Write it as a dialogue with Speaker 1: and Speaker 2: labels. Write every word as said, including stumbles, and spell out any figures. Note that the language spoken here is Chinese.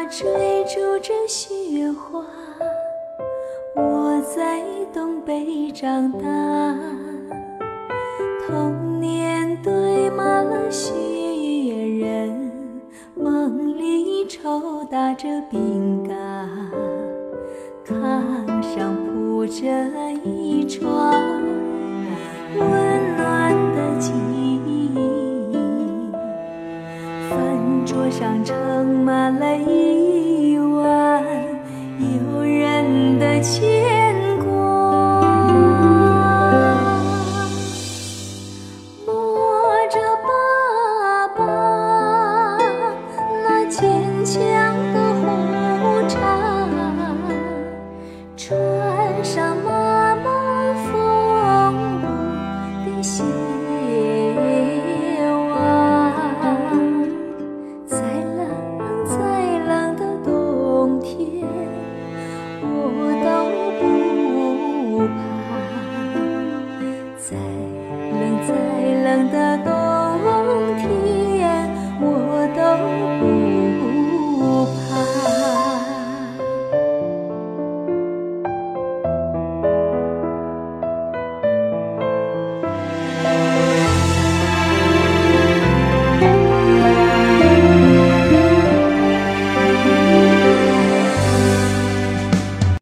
Speaker 1: 追逐着雪花，我在东北长大，童年堆满了雪人，梦里抽打着饼干，炕上铺着一床温暖的记忆，饭桌上盛满了一碗诱人的牵挂，摸着爸爸那坚强的